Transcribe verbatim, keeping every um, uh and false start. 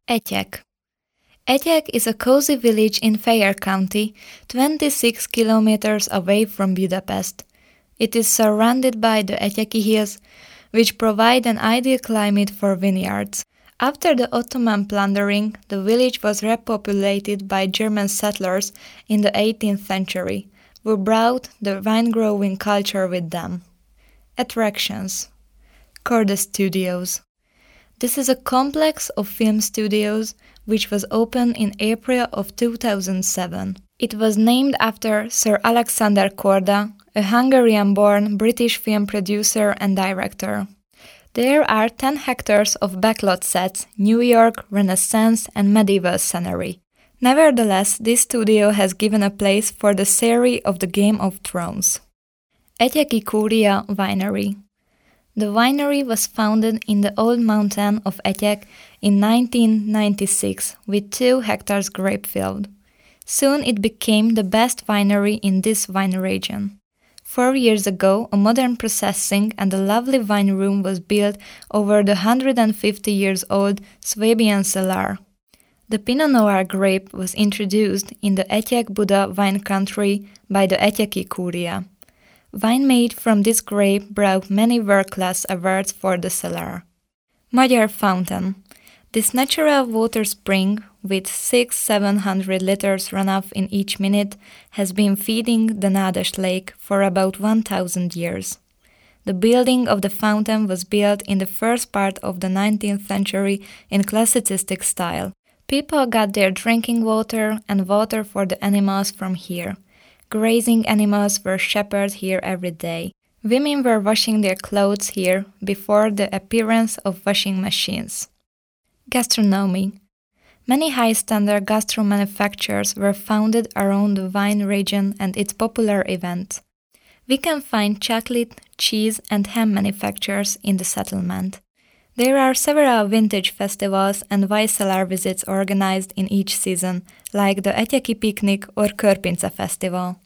Etyek. Etyek is a cozy village in Fejér County, twenty-six kilometers away from Budapest. It is surrounded by the Etyeki Hills, which provide an ideal climate for vineyards. After the Ottoman plundering, the village was repopulated by German settlers in the eighteenth century, who brought the wine-growing culture with them. Attractions. Korda Studios. This is a complex of film studios which was opened in April of two thousand seven. It was named after Sir Alexander Korda, a Hungarian-born British film producer and director. There are ten hectares of backlot sets, New York, Renaissance and medieval scenery. Nevertheless, this studio has given a place for the series of the Game of Thrones. Etyeki Kúria Winery. The winery was founded in the old mountain of Etyek in nineteen ninety-six with two hectares grape field. Soon it became the best winery in this wine region. Four years ago, a modern processing and a lovely wine room was built over the one hundred fifty years old Swabian cellar. The Pinot Noir grape was introduced in the Etyek Buda wine country by the Etyeki Kúria. Wine made from this grape brought many world-class awards for the cellar. Magyar Fountain. This natural water spring, with six to seven hundred liters runoff in each minute, has been feeding the Nádas Lake for about one thousand years. The building of the fountain was built in the first part of the nineteenth century in classicistic style. People got their drinking water and water for the animals from here. Grazing animals were shepherded here every day. Women were washing their clothes here before the appearance of washing machines. Gastronomy. Many high-standard gastro manufacturers were founded around the wine region and its popular events. We can find chocolate, cheese and ham manufacturers in the settlement. There are several vintage festivals and wine cellar visits organized in each season, like the Etyeki Picnic or Körpince Festival.